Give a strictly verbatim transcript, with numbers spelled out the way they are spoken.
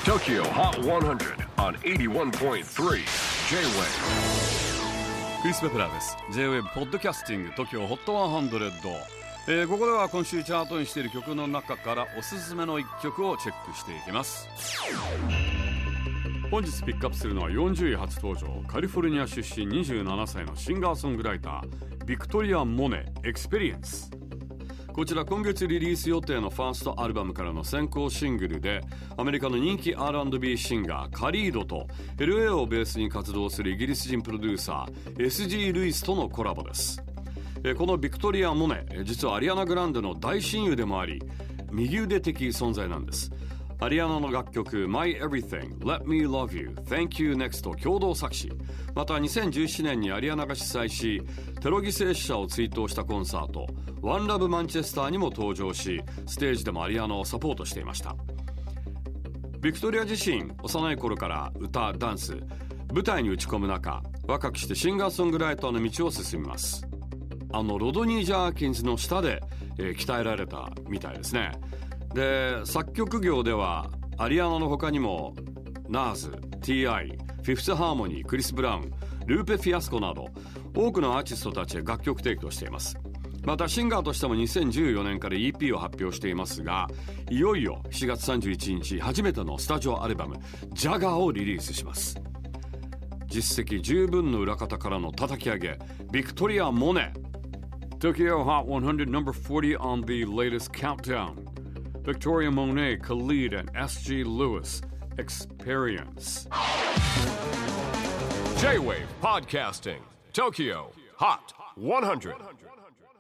TOKYO HOT one hundred on エイティワンポイントスリー J-Wave クリス・ベプラーです。 J-Wave ポッドキャスティング TOKYOホットハンドレッド、えー、ここでは今週チャートにしている曲の中からおすすめのいっきょくをチェックしていきます。本日ピックアップするのはよんじゅうい初登場、カリフォルニア出身にじゅうななさいのシンガーソングライター、ビクトリア・モネ、エクスペリエンス。こちら今月リリース予定のファーストアルバムからの先行シングルで、アメリカの人気 アールアンドビー シンガーカリードと エルエー をベースに活動するイギリス人プロデューサー エスジー ルイスとのコラボです。このビクトリア・モネ、実はアリアナ・グランデの大親友でもあり、右腕的存在なんです。アリアナの楽曲 My Everything, Let Me Love You, Thank You Next と共同作詞。またにせんじゅうななねんにアリアナが主催し、テロ犠牲者を追悼したコンサート One Love Manchester にも登場し、ステージでもアリアナをサポートしていました。ビクトリア自身、幼い頃から歌、ダンス、舞台に打ち込む中、若くしてシンガーソングライターの道を進みます。あのロドニー・ジャーキンズの下で、えー、鍛えられたみたいですね。で、作曲業ではアリアナの他にもナーズ、ティーアイ、フィフスハーモニー、クリス・ブラウン、ルーペ・フィアスコなど多くのアーティストたちへ楽曲提供しています。またシンガーとしてもにせんじゅうよねんから イーピー を発表していますが、いよいよしがつさんじゅういちにち初めてのスタジオアルバムジャガーをリリースします。実績十分の裏方からの叩き上げ、ビクトリア・モネ。 TOKYO HOT one hundred number forty on the latest countdown. Victoria Monet, Khalid, and S G Lewis, Experience. J-Wave Podcasting TOKYO HOT one hundred.